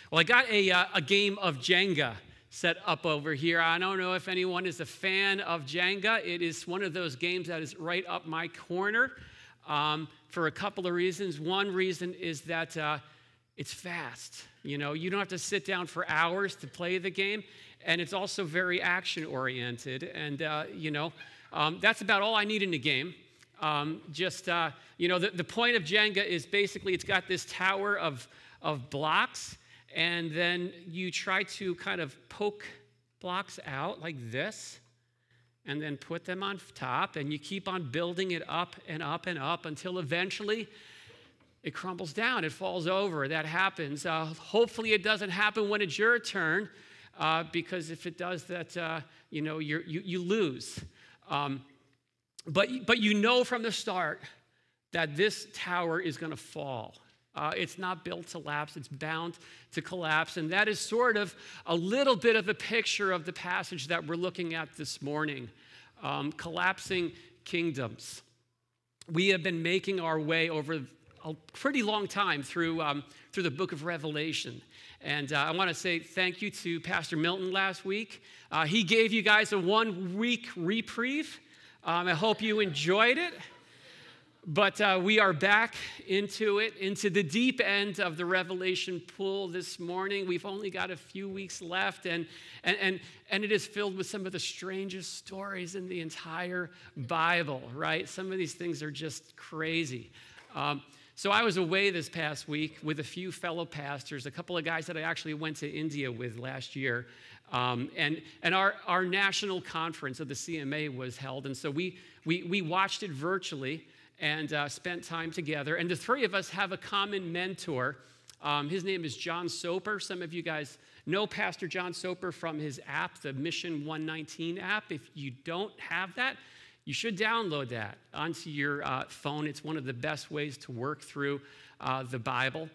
Well, I got a game of Jenga set up over here. I don't know if anyone is a fan of Jenga. It is one of those games that is right up my corner for a couple of reasons. One reason is that it's fast. You know, you don't have to sit down for hours to play the game, and it's also very action-oriented. And, that's about all I need in the game. The point of Jenga is basically it's got this tower of blocks, and then you try to kind of poke blocks out like this, and then put them on top, and you keep on building it up and up and up until eventually it crumbles down, it falls over. That happens. Hopefully it doesn't happen when it's your turn, because if it does that, you lose. But you know from the start that this tower is going to fall. It's not built to lapse. It's bound to collapse. And that is sort of a little bit of a picture of the passage that we're looking at this morning, collapsing kingdoms. We have been making our way over a pretty long time through the book of Revelation. And I want to say thank you to Pastor Milton last week. He gave you guys a 1-week reprieve. I hope you enjoyed it. But we are back into the deep end of the Revelation pool this morning. We've only got a few weeks left, and it is filled with some of the strangest stories in the entire Bible, right? Some of these things are just crazy. So I was away this past week with a few fellow pastors, a couple of guys that I actually went to India with last year. And our national conference of the CMA was held, and so we watched it virtually and spent time together. And the three of us have a common mentor. His name is John Soper. Some of you guys know Pastor John Soper from his app, the Mission 119 app. If you don't have that, you should download that onto your phone. It's one of the best ways to work through the Bible.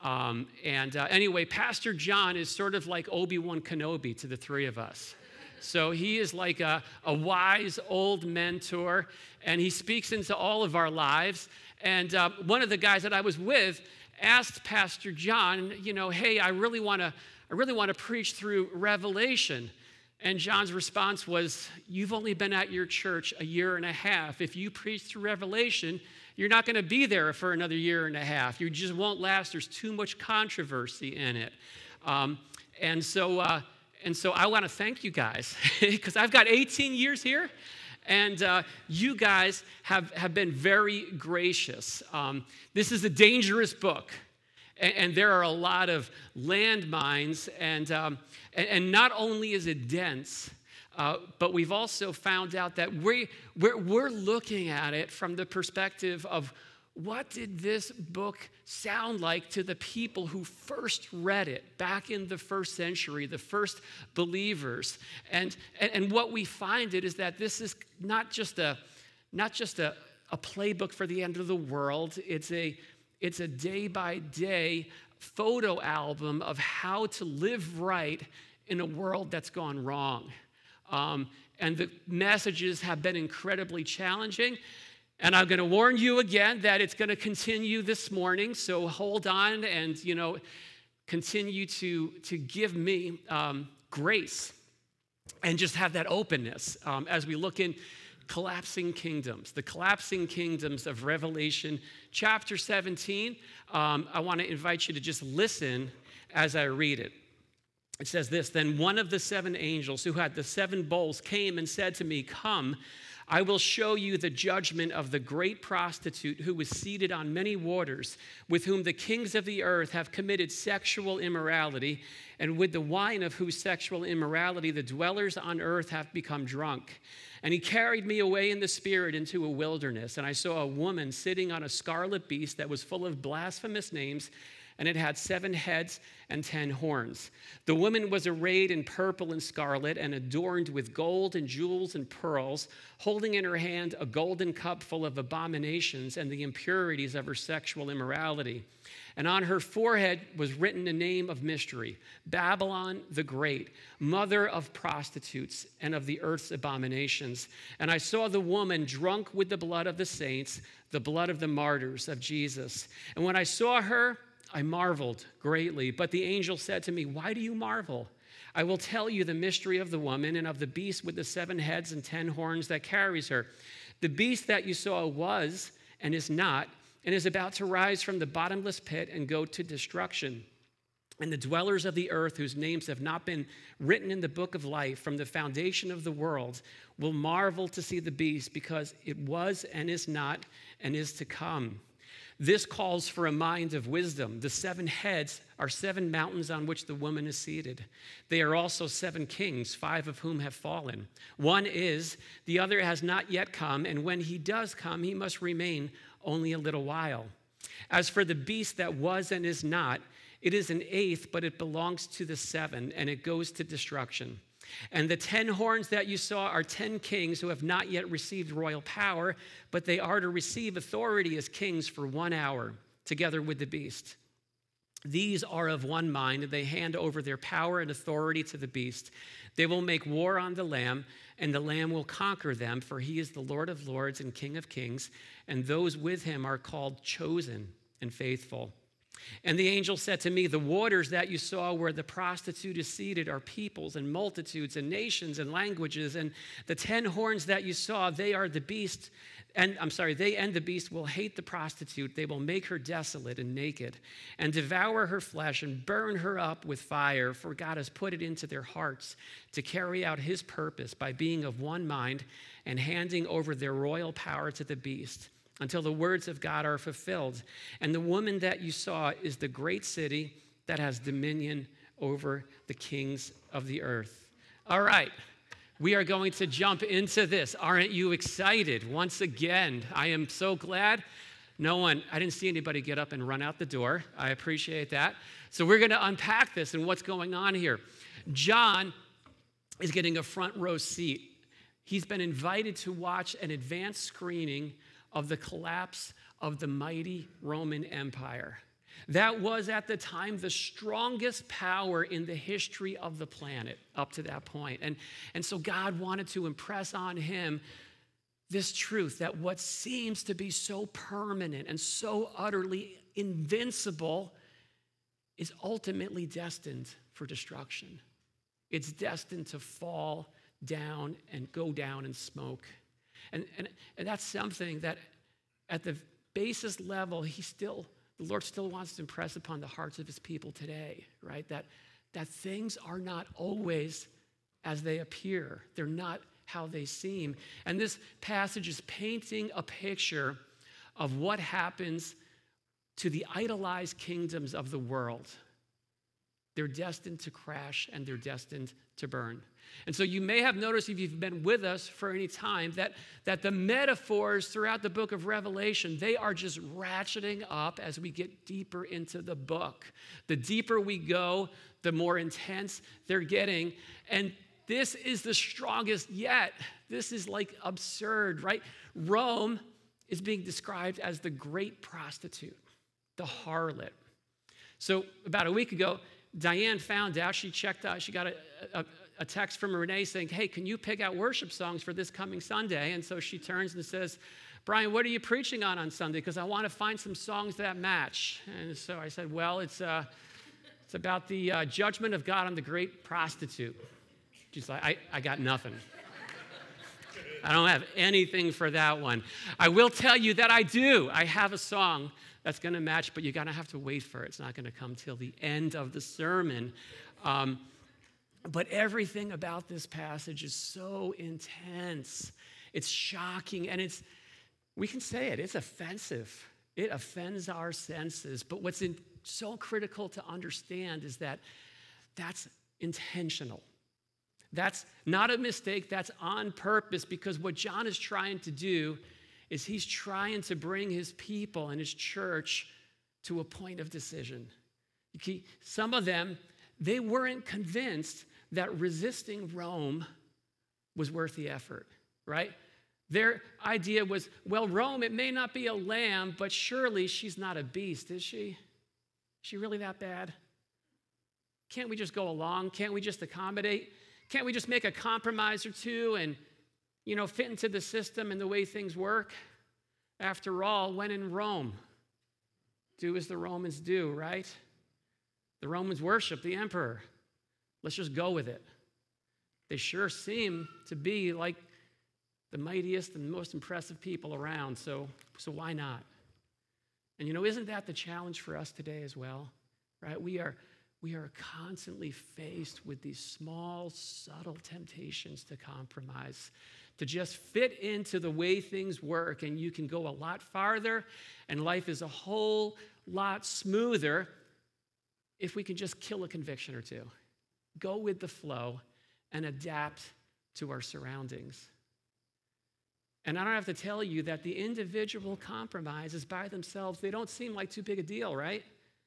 Anyway, Pastor John is sort of like Obi-Wan Kenobi to the three of us. So he is like a wise old mentor, and he speaks into all of our lives. And one of the guys that I was with asked Pastor John, hey, I really want to preach through Revelation. And John's response was, you've only been at your church a year and a half. If you preach through Revelation, you're not going to be there for another year and a half. You just won't last. There's too much controversy in it. And so I want to thank you guys because I've got 18 years here, and you guys have been very gracious. This is a dangerous book, and there are a lot of landmines, and not only is it dense, but we've also found out that we're looking at it from the perspective of what did this book sound like to the people who first read it back in the first century, the first believers? And what we find is that this is not just a playbook for the end of the world. It's a day-by-day photo album of how to live right in a world that's gone wrong. And the messages have been incredibly challenging. And I'm going to warn you again that it's going to continue this morning, so hold on and, continue to give me grace and just have that openness as we look in collapsing kingdoms, the collapsing kingdoms of Revelation chapter 17. I want to invite you to just listen as I read it. It says this, "Then one of the 7 angels who had the 7 bowls came and said to me, 'Come, I will show you the judgment of the great prostitute who was seated on many waters, with whom the kings of the earth have committed sexual immorality, and with the wine of whose sexual immorality the dwellers on earth have become drunk.' And he carried me away in the spirit into a wilderness, and I saw a woman sitting on a scarlet beast that was full of blasphemous names, and it had 7 heads and 10 horns. The woman was arrayed in purple and scarlet and adorned with gold and jewels and pearls, holding in her hand a golden cup full of abominations and the impurities of her sexual immorality. And on her forehead was written a name of mystery, Babylon the Great, mother of prostitutes and of the earth's abominations. And I saw the woman drunk with the blood of the saints, the blood of the martyrs of Jesus. And when I saw her, I marveled greatly. But the angel said to me, why do you marvel? I will tell you the mystery of the woman and of the beast with the 7 heads and 10 horns that carries her. The beast that you saw was and is not, and is about to rise from the bottomless pit and go to destruction. And the dwellers of the earth, whose names have not been written in the book of life from the foundation of the world, will marvel to see the beast, because it was and is not and is to come. This calls for a mind of wisdom. The 7 heads are 7 mountains on which the woman is seated. They are also 7 kings, 5 of whom have fallen. One is, the other has not yet come, and when he does come, he must remain only a little while. As for the beast that was and is not, it is an 8th, but it belongs to the 7, and it goes to destruction. And the 10 horns that you saw are 10 kings who have not yet received royal power, but they are to receive authority as kings for 1 hour, together with the beast. These are of one mind, and they hand over their power and authority to the beast. They will make war on the Lamb, and the Lamb will conquer them, for he is the Lord of lords and King of kings, and those with him are called chosen and faithful. And the angel said to me, the waters that you saw where the prostitute is seated are peoples and multitudes and nations and languages. And the 10 horns that you saw, they and the beast will hate the prostitute. They will make her desolate and naked and devour her flesh and burn her up with fire. For God has put it into their hearts to carry out his purpose by being of one mind and handing over their royal power to the beast, until the words of God are fulfilled. And the woman that you saw is the great city that has dominion over the kings of the earth. All right, we are going to jump into this. Aren't you excited? Once again, I am so glad. I didn't see anybody get up and run out the door. I appreciate that. So we're going to unpack this and what's going on here. John is getting a front row seat. He's been invited to watch an advanced screening of the collapse of the mighty Roman Empire. That was at the time the strongest power in the history of the planet up to that point. And so God wanted to impress on him this truth that what seems to be so permanent and so utterly invincible is ultimately destined for destruction. It's destined to fall down and go down in smoke. And that's something that at the basis level, the Lord still wants to impress upon the hearts of his people today, right? That things are not always as they appear. They're not how they seem. And this passage is painting a picture of what happens to the idolized kingdoms of the world. They're destined to crash and they're destined to burn. And so you may have noticed, if you've been with us for any time, that the metaphors throughout the book of Revelation, they are just ratcheting up as we get deeper into the book. The deeper we go, the more intense they're getting. And this is the strongest yet. This is like absurd, right? Rome is being described as the great prostitute, the harlot. So about a week ago, Diane found out, she checked out, she got a text from Renee saying, hey, can you pick out worship songs for this coming Sunday? And so she turns and says, Brian, what are you preaching on Sunday? Because I want to find some songs that match. And so I said, well, it's about the judgment of God on the great prostitute. She's like, I got nothing. I don't have anything for that one. I will tell you that I do. I have a song that's going to match, but you're going to have to wait for it. It's not going to come till the end of the sermon. But everything about this passage is so intense. It's shocking, and we can say it's offensive. It offends our senses. But what's so critical to understand is that that's intentional. That's not a mistake. That's on purpose, because what John is trying to do is he's trying to bring his people and his church to a point of decision. Some of them, they weren't convinced that resisting Rome was worth the effort, right? Their idea was, well, Rome, it may not be a lamb, but surely she's not a beast, is she? Is she really that bad? Can't we just go along? Can't we just accommodate? Can't we just make a compromise or two and, fit into the system and the way things work? After all, when in Rome, do as the Romans do, right? The Romans worship the emperor. Let's just go with it. They sure seem to be like the mightiest and most impressive people around, so why not? And isn't that the challenge for us today as well? Right? We are constantly faced with these small, subtle temptations to compromise, to just fit into the way things work, and you can go a lot farther, and life is a whole lot smoother if we can just kill a conviction or two, go with the flow, and adapt to our surroundings. And I don't have to tell you that the individual compromises by themselves, they don't seem like too big a deal, right?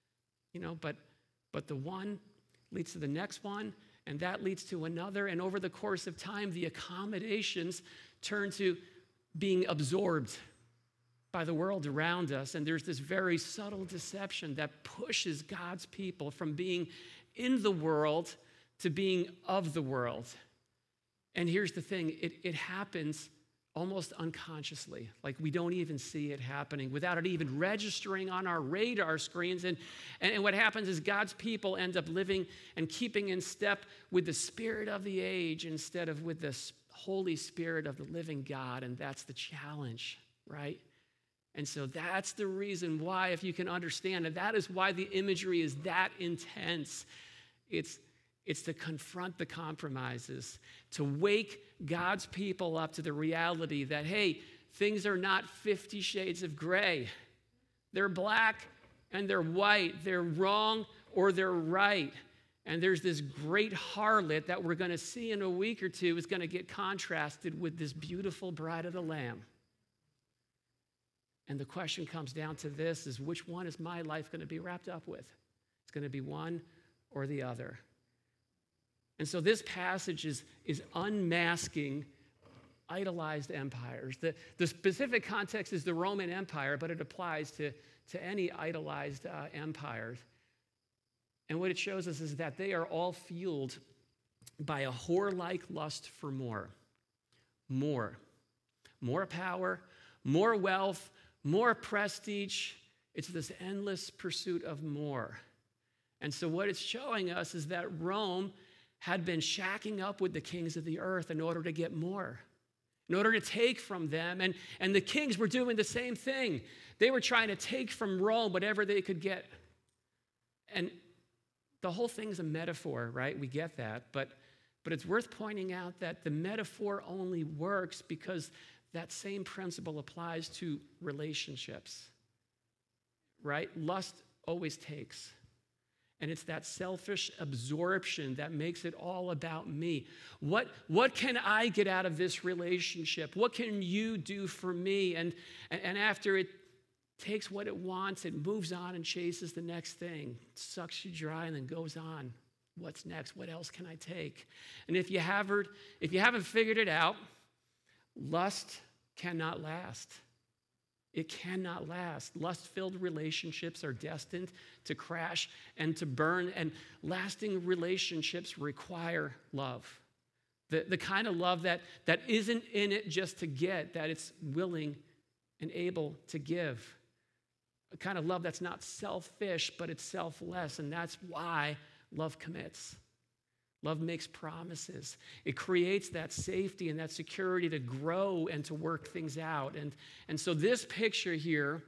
But the one leads to the next one, and that leads to another, and over the course of time, the accommodations turn to being absorbed by the world around us, and there's this very subtle deception that pushes God's people from being in the world to being of the world. And here's the thing, it happens almost unconsciously, like we don't even see it happening, without it even registering on our radar screens. And what happens is God's people end up living and keeping in step with the spirit of the age instead of with the Holy Spirit of the living God, and that's the challenge, right? And so that's the reason why, if you can understand it, that is why the imagery is that intense. It's to confront the compromises, to wake God's people up to the reality that, hey, things are not 50 shades of gray. They're black and they're white. They're wrong or they're right. And there's this great harlot that we're going to see in a week or two is going to get contrasted with this beautiful bride of the Lamb. And the question comes down to this, is which one is my life going to be wrapped up with? It's going to be one or the other. And so this passage is unmasking idolized empires. The specific context is the Roman Empire, but it applies to any idolized empires. And what it shows us is that they are all fueled by a whore-like lust for more. More power, more wealth, more prestige. It's this endless pursuit of more. And so what it's showing us is that Rome had been shacking up with the kings of the earth in order to get more, in order to take from them. And the kings were doing the same thing. They were trying to take from Rome whatever they could get. And the whole thing's a metaphor, right? We get that. But it's worth pointing out that the metaphor only works because that same principle applies to relationships, right? Lust always takes. And it's that selfish absorption that makes it all about me. What can I get out of this relationship? What can you do for me? And after it takes what it wants, it moves on and chases the next thing, sucks you dry, and then goes on. What's next? What else can I take? And if you haven't figured it out, lust cannot last. It cannot last. Lust-filled relationships are destined to crash and to burn, and lasting relationships require love. The kind of love that isn't in it just to get, that it's willing and able to give. A kind of love that's not selfish, but it's selfless, and that's why love commits. Love makes promises. It creates that safety and that security to grow and to work things out. And so this picture here,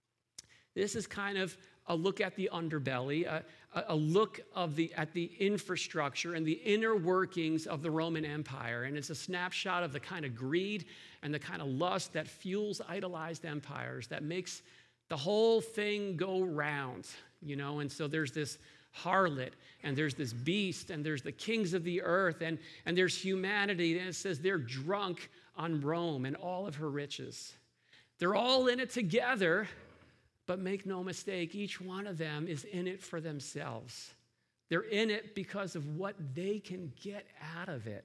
this is kind of a look at the underbelly, a look at the infrastructure and the inner workings of the Roman Empire. And it's a snapshot of the kind of greed and the kind of lust that fuels idolized empires, that makes the whole thing go round, And so there's this harlot, and there's this beast, and there's the kings of the earth, and there's humanity, and it says they're drunk on Rome and all of her riches. They're all in it together, but make no mistake, each one of them is in it for themselves. They're in it because of what they can get out of it.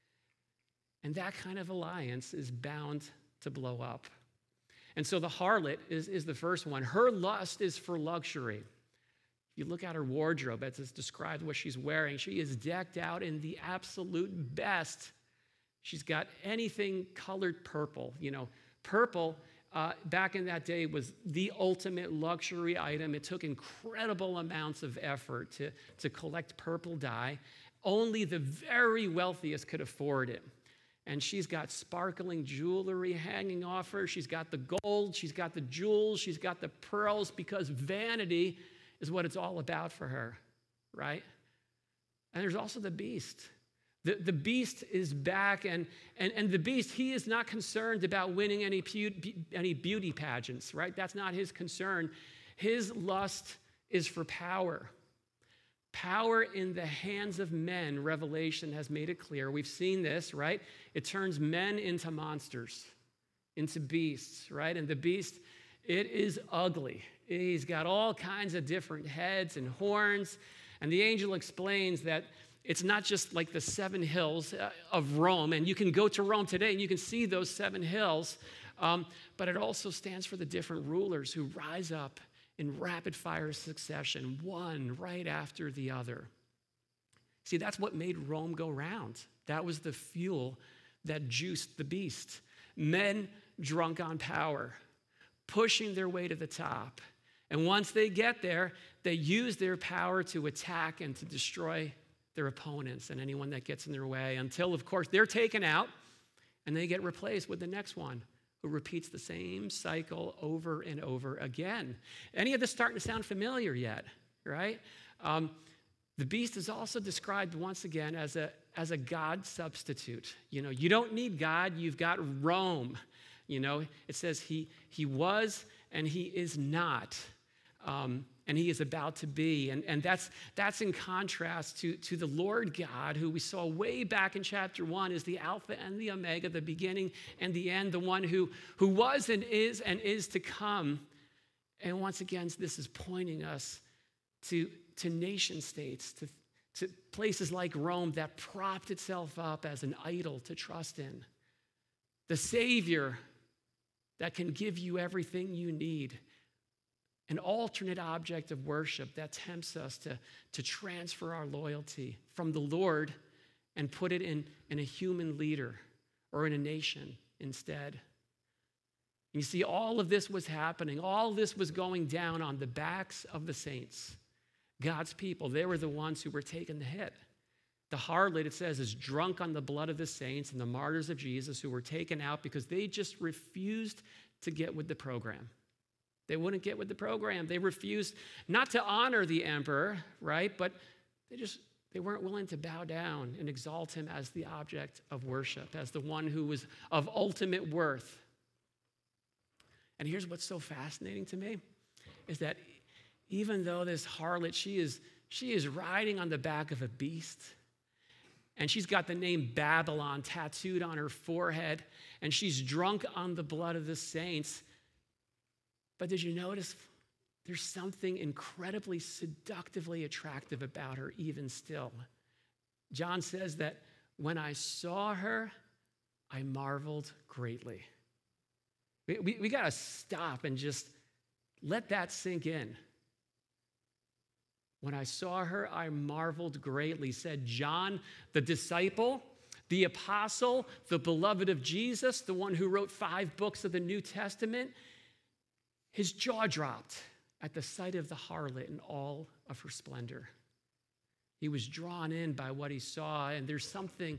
And that kind of alliance is bound to blow up. And so the harlot is the first one. Her lust is for luxury. You look at her wardrobe as it's described what she's wearing. She is decked out in the absolute best. She's got anything colored purple. Purple back in that day was the ultimate luxury item. It took incredible amounts of effort to collect purple dye. Only the very wealthiest could afford it. And she's got sparkling jewelry hanging off her. She's got the gold, she's got the jewels, she's got the pearls, because vanity is what it's all about for her, right? And there's also the beast. The beast is back, and the beast, he is not concerned about winning any beauty pageants, right? That's not his concern. His lust is for power. Power in the hands of men, Revelation has made it clear. We've seen this, right? It turns men into monsters, into beasts, right? And the beast, it is ugly. He's got all kinds of different heads and horns. And the angel explains that it's not just like the 7 hills of Rome, and you can go to Rome today and you can see those 7 hills, but it also stands for the different rulers who rise up in rapid-fire succession, one right after the other. See, that's what made Rome go round. That was the fuel that juiced the beast. Men drunk on power, pushing their way to the top. And once they get there, they use their power to attack and to destroy their opponents and anyone that gets in their way, until, of course, they're taken out and they get replaced with the next one who repeats the same cycle over and over again. Any of this starting to sound familiar yet, right? The beast is also described once again as a God substitute. You know, you don't need God, you've got Rome. You know, it says he was and he is not. And he is about to be. And that's in contrast to the Lord God, who we saw way back in chapter 1 is the Alpha and the Omega, the beginning and the end, the one who was and is to come. And once again, this is pointing us to nation states, to places like Rome that propped itself up as an idol to trust in. The Savior that can give you everything you need. An alternate object of worship that tempts us to transfer our loyalty from the Lord and put it in a human leader or in a nation instead. You see, all of this was happening. All this was going down on the backs of the saints. God's people, they were the ones who were taking the hit. The harlot, it says, is drunk on the blood of the saints and the martyrs of Jesus who were taken out because they just refused to get with the program. They wouldn't get with the program. They refused not to honor the emperor, right? But they weren't willing to bow down and exalt him as the object of worship, as the one who was of ultimate worth. And here's what's so fascinating to me, is that even though this harlot, she is riding on the back of a beast, and she's got the name Babylon tattooed on her forehead, and she's drunk on the blood of the saints. But did you notice there's something incredibly seductively attractive about her even still? John says that when I saw her, I marveled greatly. We got to stop and just let that sink in. When I saw her, I marveled greatly, said John, the disciple, the apostle, the beloved of Jesus, the one who wrote 5 books of the New Testament. His jaw dropped at the sight of the harlot in all of her splendor. He was drawn in by what he saw, and there's something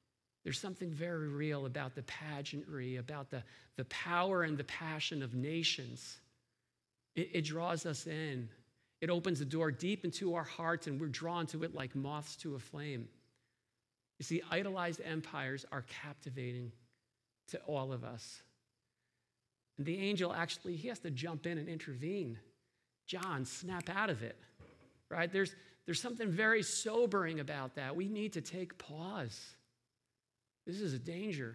very real about the pageantry, about the power and the passion of nations. It draws us in. It opens the door deep into our hearts, and we're drawn to it like moths to a flame. You see, idolized empires are captivating to all of us. And the angel actually, he has to jump in and intervene. John, snap out of it, right? There's something very sobering about that. We need to take pause. This is a danger.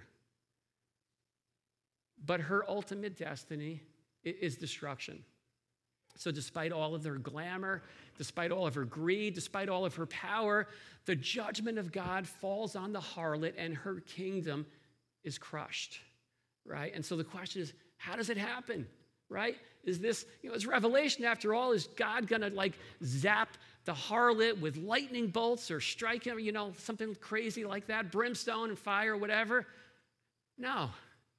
But her ultimate destiny is destruction. So despite all of her glamour, despite all of her greed, despite all of her power, the judgment of God falls on the harlot and her kingdom is crushed, right? And so the question is, how does it happen, right? Is this, it's Revelation after all. Is God going to zap the harlot with lightning bolts or strike him, something crazy like that, brimstone and fire, whatever? No.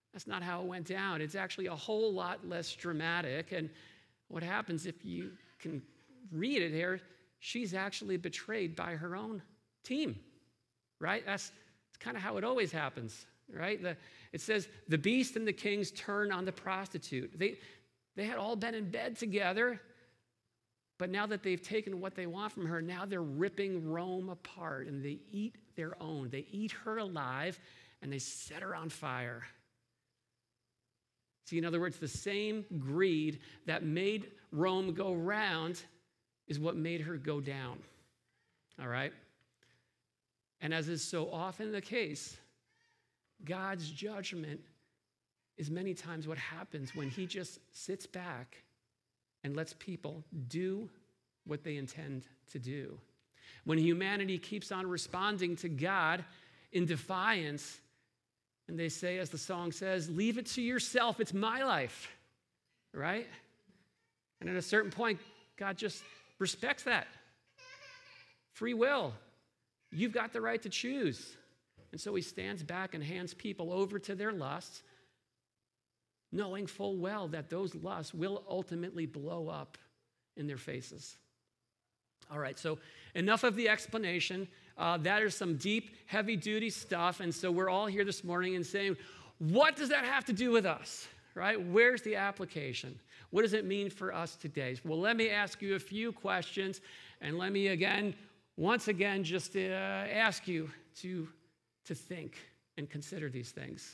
That's not how it went down. It's actually a whole lot less dramatic. And what happens, if you can read it here, she's actually betrayed by her own team, right? That's kind of how it always happens, right? It says, the beast and the kings turn on the prostitute. They had all been in bed together, but now that they've taken what they want from her, now they're ripping Rome apart, and they eat their own. They eat her alive, and they set her on fire. See, in other words, the same greed that made Rome go round is what made her go down, all right? And as is so often the case, God's judgment is many times what happens when he just sits back and lets people do what they intend to do. When humanity keeps on responding to God in defiance, and they say, as the song says, leave it to yourself, it's my life, right? And at a certain point, God just respects that. Free will. You've got the right to choose. And so he stands back and hands people over to their lusts, knowing full well that those lusts will ultimately blow up in their faces. All right, so enough of the explanation. That is some deep, heavy-duty stuff. And so we're all here this morning and saying, what does that have to do with us, right? Where's the application? What does it mean for us today? Well, let me ask you a few questions, and let me once again, just ask you to think and consider these things.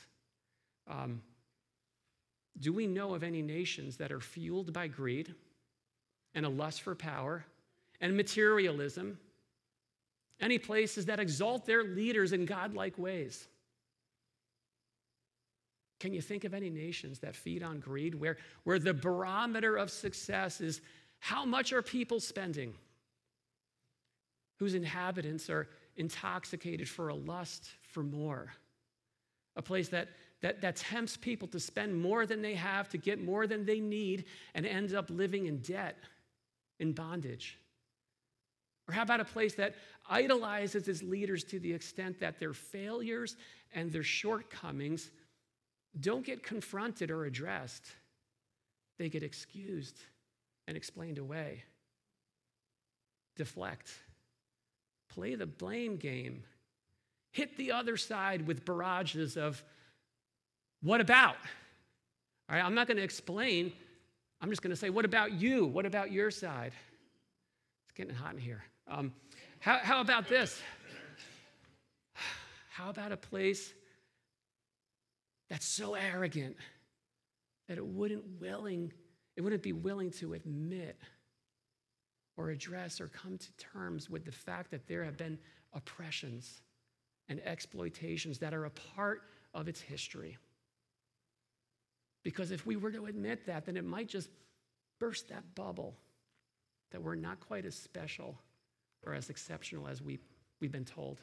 Do we know of any nations that are fueled by greed and a lust for power and materialism? Any places that exalt their leaders in godlike ways? Can you think of any nations that feed on greed, where the barometer of success is how much are people spending? Whose inhabitants are intoxicated for a lust for more? A place that tempts people to spend more than they have, to get more than they need, and ends up living in debt, in bondage. Or how about a place that idolizes its leaders to the extent that their failures and their shortcomings don't get confronted or addressed? They get excused and explained away. Deflect. Play the blame game. Hit the other side with barrages of, what about? All right, I'm not going to explain. I'm just going to say, what about you? What about your side? It's getting hot in here. How about this? How about a place that's so arrogant that it wouldn't be willing to admit or address or come to terms with the fact that there have been oppressions and exploitations that are a part of its history? Because if we were to admit that, then it might just burst that bubble that we're not quite as special or as exceptional as we've been told.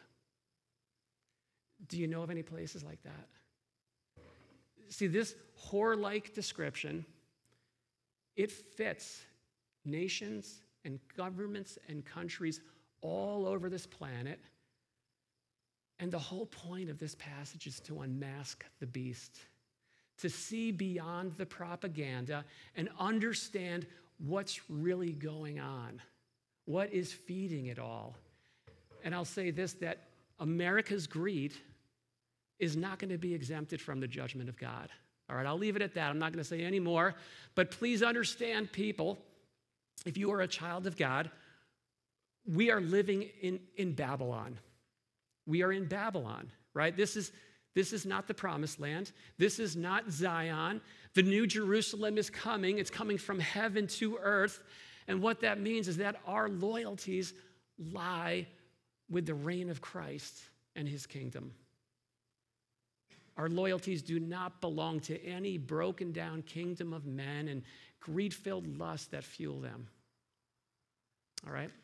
Do you know of any places like that? See, this whore-like description, it fits nations and governments and countries all over this planet. And the whole point of this passage is to unmask the beast, to see beyond the propaganda and understand what's really going on, what is feeding it all. And I'll say this, that America's greed is not going to be exempted from the judgment of God. All right, I'll leave it at that. I'm not going to say any more. But please understand, people, if you are a child of God, we are living in Babylon. We are in Babylon, right? This is not the promised land. This is not Zion. The new Jerusalem is coming. It's coming from heaven to earth. And what that means is that our loyalties lie with the reign of Christ and his kingdom. Our loyalties do not belong to any broken down kingdom of men and greed-filled lust that fuel them. All right?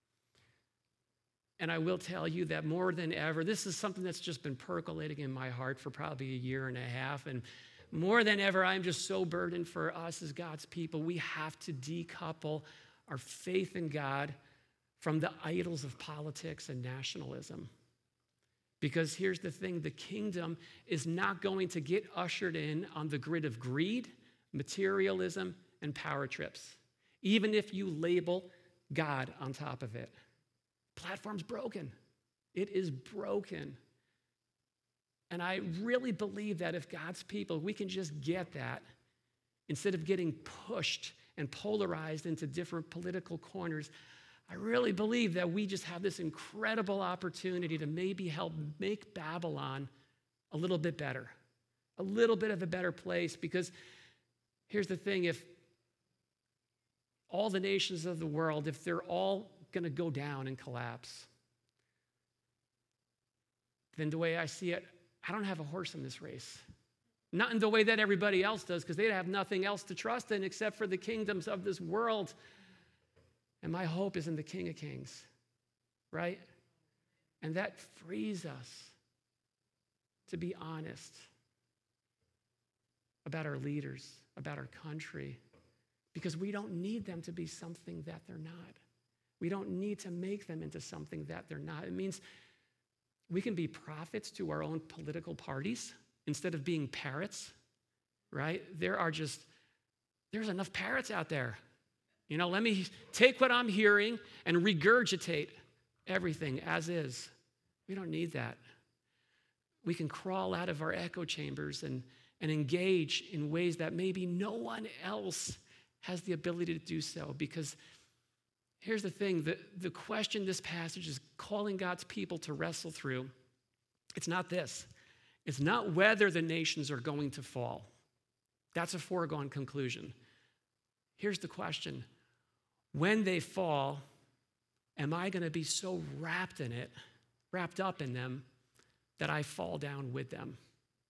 And I will tell you that more than ever, this is something that's just been percolating in my heart for probably a year and a half. And more than ever, I'm just so burdened for us as God's people. We have to decouple our faith in God from the idols of politics and nationalism. Because here's the thing, the kingdom is not going to get ushered in on the grid of greed, materialism, and power trips, even if you label God on top of it. Platform's broken. It is broken. And I really believe that if God's people, we can just get that, instead of getting pushed and polarized into different political corners, I really believe that we just have this incredible opportunity to maybe help make Babylon a little bit better, a little bit of a better place. Because here's the thing, if all the nations of the world, if they're all going to go down and collapse, then the way I see it, I don't have a horse in this race. Not in the way that everybody else does, because they have nothing else to trust in except for the kingdoms of this world. And my hope is in the King of Kings, right? And that frees us to be honest about our leaders, about our country, because we don't need them to be something that they're not. We don't need to make them into something that they're not. It means we can be prophets to our own political parties instead of being parrots, right? There's enough parrots out there. You know, let me take what I'm hearing and regurgitate everything as is. We don't need that. We can crawl out of our echo chambers and engage in ways that maybe no one else has the ability to do so. Because here's the thing, the question this passage is calling God's people to wrestle through, it's not this. It's not whether the nations are going to fall. That's a foregone conclusion. Here's the question. When they fall, am I going to be so wrapped up in them, that I fall down with them?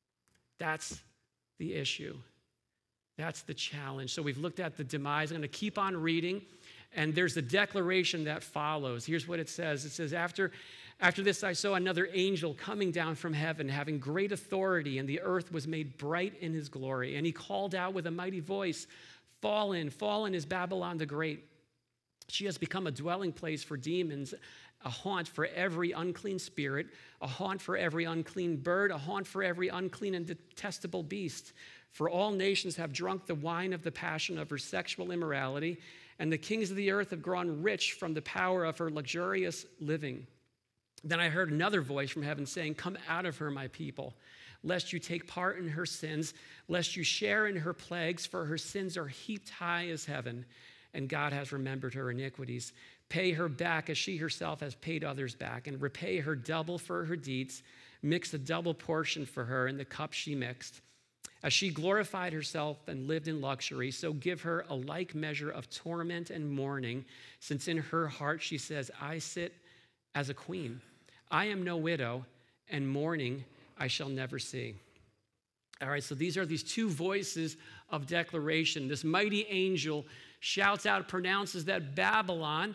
That's the issue. That's the challenge. So we've looked at the demise. I'm going to keep on reading, and there's a declaration that follows. Here's what it says. It says, After this I saw another angel coming down from heaven, having great authority, and the earth was made bright in his glory. And he called out with a mighty voice, Fallen, fallen is Babylon the Great. She has become a dwelling place for demons, a haunt for every unclean spirit, a haunt for every unclean bird, a haunt for every unclean and detestable beast. For all nations have drunk the wine of the passion of her sexual immorality, and the kings of the earth have grown rich from the power of her luxurious living. Then I heard another voice from heaven saying, Come out of her, my people, lest you take part in her sins, lest you share in her plagues, for her sins are heaped high as heaven, and God has remembered her iniquities. Pay her back as she herself has paid others back, and repay her double for her deeds. Mix a double portion for her in the cup she mixed. As she glorified herself and lived in luxury, so give her a like measure of torment and mourning, since in her heart she says, I sit as a queen. I am no widow, and mourning I shall never see. All right, so these are these two voices of declaration. This mighty angel shouts out, pronounces that Babylon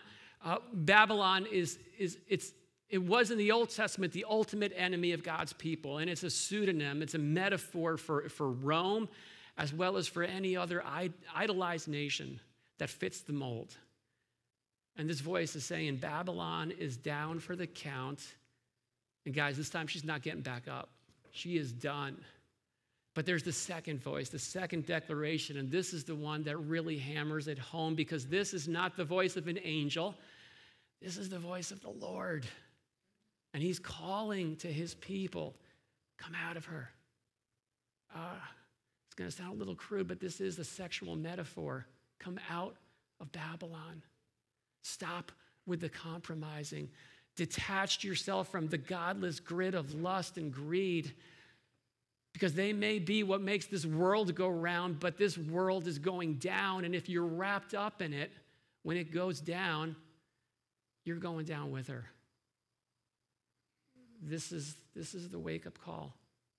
it was in the Old Testament the ultimate enemy of God's people, and it's a pseudonym, it's a metaphor for Rome, as well as for any other idolized nation that fits the mold. And this voice is saying, Babylon is down for the count. And guys, this time she's not getting back up. She is done. But there's the second voice, the second declaration, and this is the one that really hammers it home, because this is not the voice of an angel. This is the voice of the Lord. And he's calling to his people, come out of her. It's going to sound a little crude, but this is a sexual metaphor. Come out of Babylon. Stop with the compromising. Detach yourself from the godless grid of lust and greed, because they may be what makes this world go round, but this world is going down, and if you're wrapped up in it, when it goes down, you're going down with her. This is the wake-up call.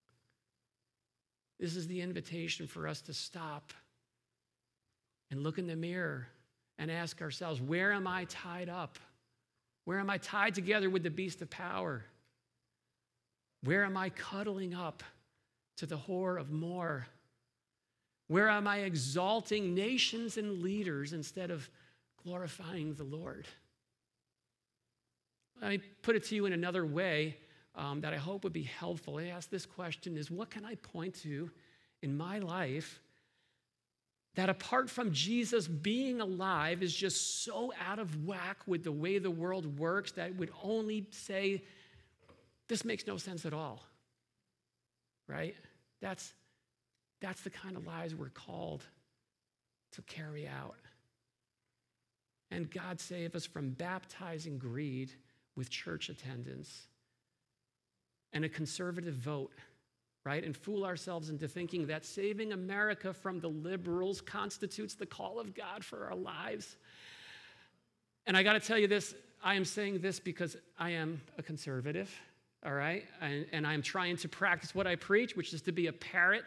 This is the invitation for us to stop and look in the mirror and ask ourselves, where am I tied up? Where am I tied together with the beast of power? Where am I cuddling up to the whore of more? Where am I exalting nations and leaders instead of glorifying the Lord? Let me put it to you in another way. that I hope would be helpful. I ask this question is, what can I point to in my life that apart from Jesus being alive is just so out of whack with the way the world works that would only say, this makes no sense at all, right? That's the kind of lives we're called to carry out. And God save us from baptizing greed with church attendance and a conservative vote, right? And fool ourselves into thinking that saving America from the liberals constitutes the call of God for our lives. And I got to tell you this, I am saying this because I am a conservative, all right? And I'm trying to practice what I preach, which is to be a prophet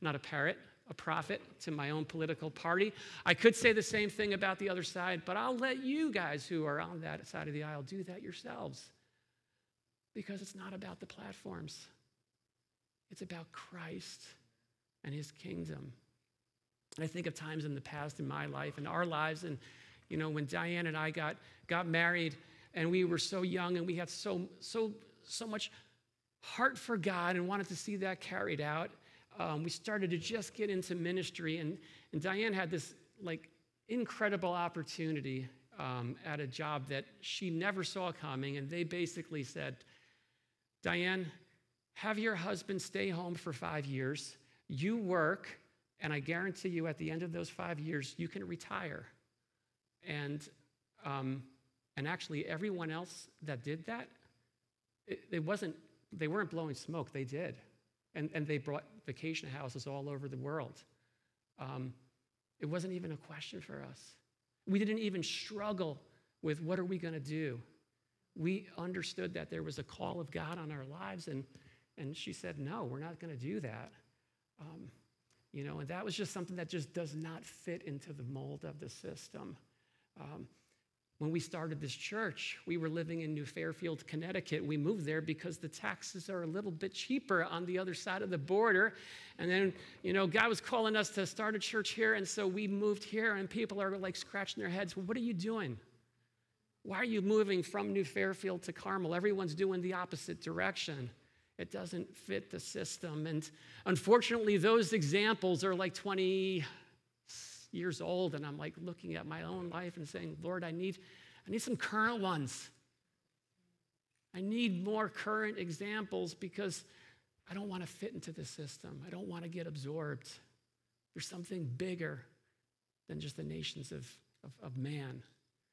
to my own political party. I could say the same thing about the other side, but I'll let you guys who are on that side of the aisle do that yourselves. Because it's not about the platforms. It's about Christ and his kingdom. I think of times in the past in my life and our lives, and when Diane and I got married and we were so young and we had so much heart for God and wanted to see that carried out. We started to just get into ministry, and Diane had this incredible opportunity at a job that she never saw coming, and they basically said, Diane, have your husband stay home for 5 years, you work, and I guarantee you at the end of those 5 years, you can retire. And actually everyone else that did that, they weren't blowing smoke, they did. And they brought vacation houses all over the world. It wasn't even a question for us. We didn't even struggle with what are we going to do. We understood that there was a call of God on our lives, and she said, no, we're not going to do that. And that was just something that just does not fit into the mold of the system. When we started this church, we were living in New Fairfield, Connecticut. We moved there because the taxes are a little bit cheaper on the other side of the border. And then, God was calling us to start a church here, and so we moved here, and people are scratching their heads, well, what are you doing? Why are you moving from New Fairfield to Carmel? Everyone's doing the opposite direction. It doesn't fit the system. And unfortunately, those examples are 20 years old, and I'm looking at my own life and saying, Lord, I need some current ones. I need more current examples because I don't want to fit into the system. I don't want to get absorbed. There's something bigger than just the nations of man.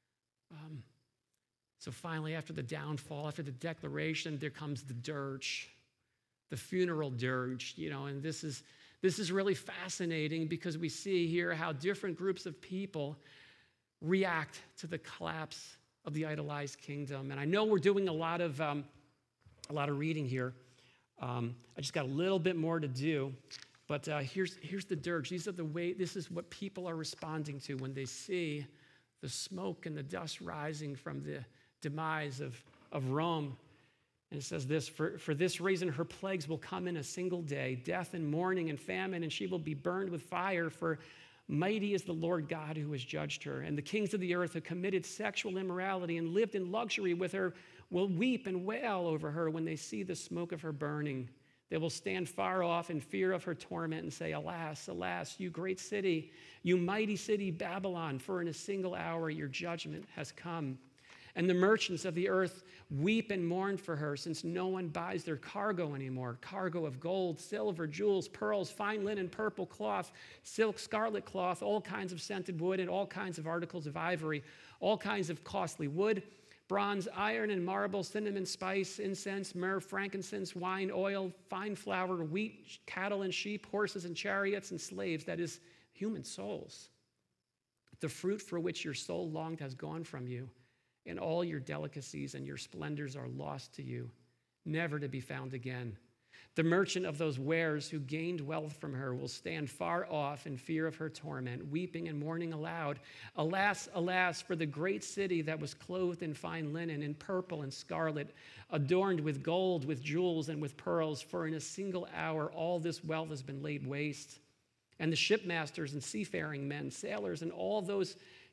So finally, after the downfall, after the declaration, there comes the dirge, the funeral dirge, and this is really fascinating because we see here how different groups of people react to the collapse of the idolized kingdom. And I know we're doing a lot of reading here. I just got a little bit more to do, but here's the dirge. This is what people are responding to when they see the smoke and the dust rising from the demise of Rome. And it says this, for this reason her plagues will come in a single day, death and mourning and famine, and she will be burned with fire, for mighty is the Lord God who has judged her. And the kings of the earth who committed sexual immorality and lived in luxury with her will weep and wail over her when they see the smoke of her burning. They will stand far off in fear of her torment and say, alas, alas, you great city, you mighty city Babylon, for in a single hour your judgment has come. And the merchants of the earth weep and mourn for her, since no one buys their cargo anymore. Cargo of gold, silver, jewels, pearls, fine linen, purple cloth, silk, scarlet cloth, all kinds of scented wood, and all kinds of articles of ivory, all kinds of costly wood, bronze, iron, and marble, cinnamon, spice, incense, myrrh, frankincense, wine, oil, fine flour, wheat, cattle and sheep, horses and chariots, and slaves, that is, human souls. The fruit for which your soul longed has gone from you, and all your delicacies and your splendors are lost to you, never to be found again. The merchant of those wares who gained wealth from her will stand far off in fear of her torment, weeping and mourning aloud. Alas, alas, for the great city that was clothed in fine linen, in purple and scarlet, adorned with gold, with jewels, and with pearls, for in a single hour all this wealth has been laid waste. And the shipmasters and seafaring men, sailors, and all those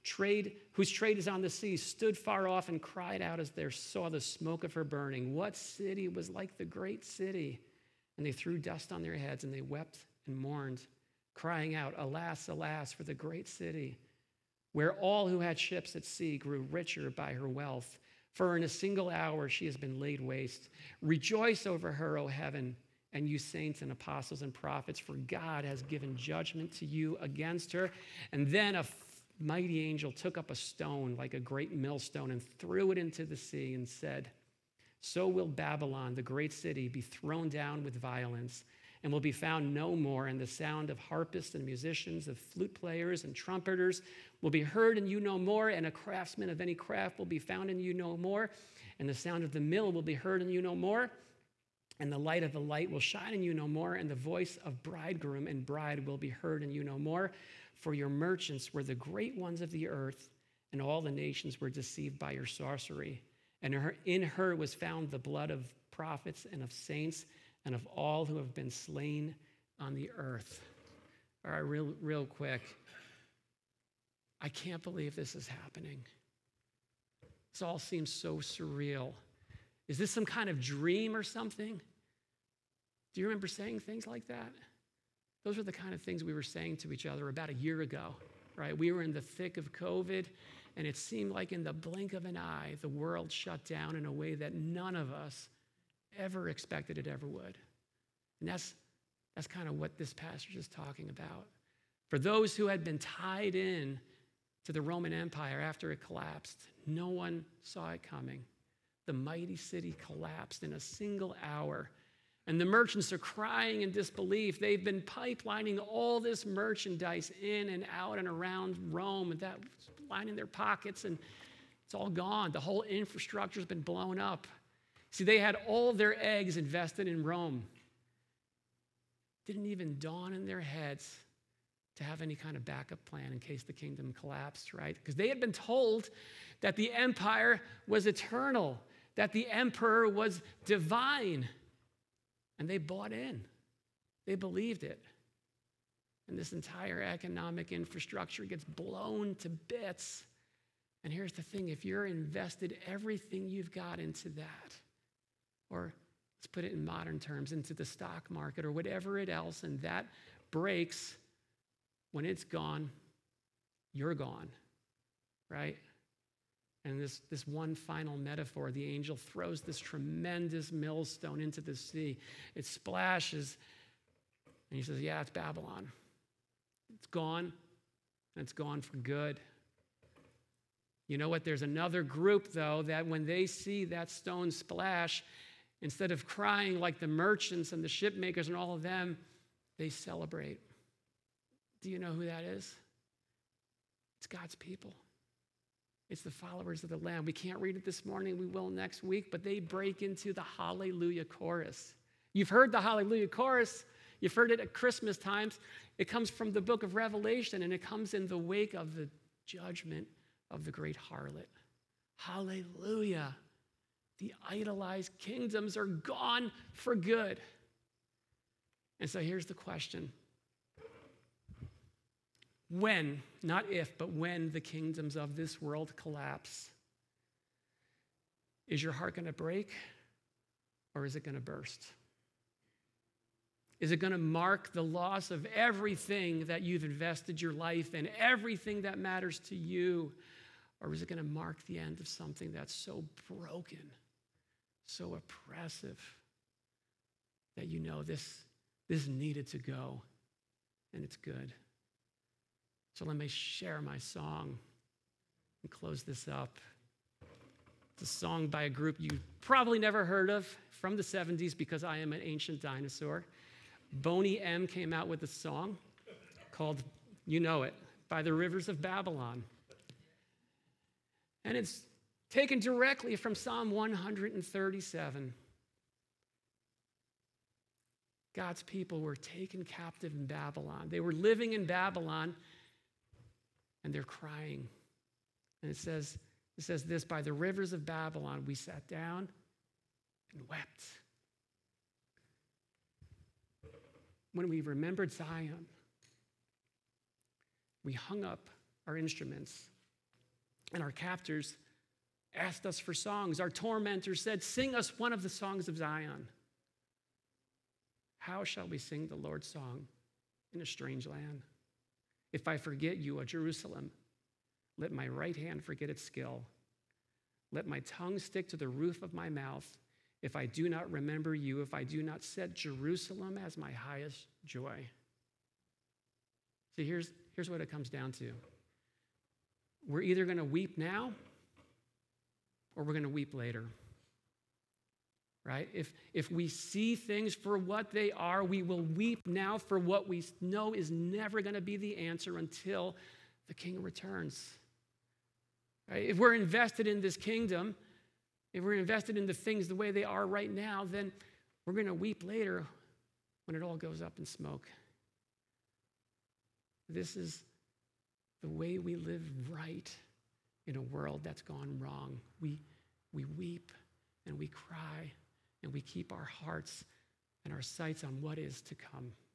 whose trade is on the sea, stood far off and cried out as they saw the smoke of her burning. What city was like the great city? And they threw dust on their heads, and they wept and mourned, crying out, Alas, alas, for the great city, where all who had ships at sea grew richer by her wealth. For in a single hour she has been laid waste. Rejoice over her, O heaven, and you saints and apostles and prophets, for God has given judgment to you against her. And then a mighty angel took up a stone like a great millstone and threw it into the sea and said, So will Babylon, the great city, be thrown down with violence and will be found no more. And the sound of harpists and musicians, of flute players and trumpeters will be heard in you no more. And a craftsman of any craft will be found in you no more. And the sound of the mill will be heard in you no more. And the light of the light will shine in you no more. And the voice of bridegroom and bride will be heard in you no more. For your merchants were the great ones of the earth, and all the nations were deceived by your sorcery. And in her was found the blood of prophets and of saints and of all who have been slain on the earth. All right, real quick. I can't believe this is happening. This all seems so surreal. Is this some kind of dream or something? Do you remember saying things like that? Those are the kind of things we were saying to each other about a year ago, right? We were in the thick of COVID, and it seemed like in the blink of an eye, the world shut down in a way that none of us ever expected it ever would. And that's kind of what this passage is talking about. For those who had been tied in to the Roman Empire after it collapsed, no one saw it coming. The mighty city collapsed in a single hour. And the merchants are crying in disbelief. They've been pipelining all this merchandise in and out and around Rome, and that lining their pockets, and it's all gone. The whole infrastructure has been blown up. See, they had all their eggs invested in Rome. Didn't even dawn in their heads to have any kind of backup plan in case the kingdom collapsed, right? Because they had been told that the empire was eternal, that the emperor was divine. And they bought in. They believed it. And this entire economic infrastructure gets blown to bits. And here's the thing, if you're invested everything you've got into that, or let's put it in modern terms, into the stock market or whatever it else, and that breaks, when it's gone, you're gone, right? And this one final metaphor, the angel throws this tremendous millstone into the sea. It splashes, and he says, yeah, it's Babylon. It's gone, and it's gone for good. You know what? There's another group, though, that when they see that stone splash, instead of crying like the merchants and the ship makers and all of them, they celebrate. Do you know who that is? It's God's people. It's the followers of the Lamb. We can't read it this morning. We will next week, but they break into the Hallelujah chorus. You've heard the Hallelujah chorus. You've heard it at Christmas times. It comes from the book of Revelation, and it comes in the wake of the judgment of the great harlot. Hallelujah. The idolized kingdoms are gone for good. And so here's the question. When, not if, but when the kingdoms of this world collapse, is your heart going to break or is it going to burst? Is it going to mark the loss of everything that you've invested your life in, everything that matters to you? Or is it going to mark the end of something that's so broken, so oppressive, that you know this needed to go and it's good? So let me share my song and close this up. It's a song by a group you probably never heard of from the 70s because I am an ancient dinosaur. Boney M came out with a song called, you know it, By the Rivers of Babylon. And it's taken directly from Psalm 137. God's people were taken captive in Babylon. They were living in Babylon, and they're crying. And it says this, by the rivers of Babylon, we sat down and wept. When we remembered Zion, we hung up our instruments And our captors asked us for songs. Our tormentors said, sing us one of the songs of Zion. How shall we sing the Lord's song in a strange land? If I forget you, O Jerusalem, let my right hand forget its skill. Let my tongue stick to the roof of my mouth. If I do not remember you, if I do not set Jerusalem as my highest joy. See, here's what it comes down to. We're either going to weep now or we're going to weep later. Right? If we see things for what they are, we will weep now for what we know is never going to be the answer until the King returns. Right? If we're invested in this kingdom, if we're invested in the things the way they are right now, then we're going to weep later when it all goes up in smoke. This is the way we live right in a world that's gone wrong. We weep and we cry and we keep our hearts and our sights on what is to come.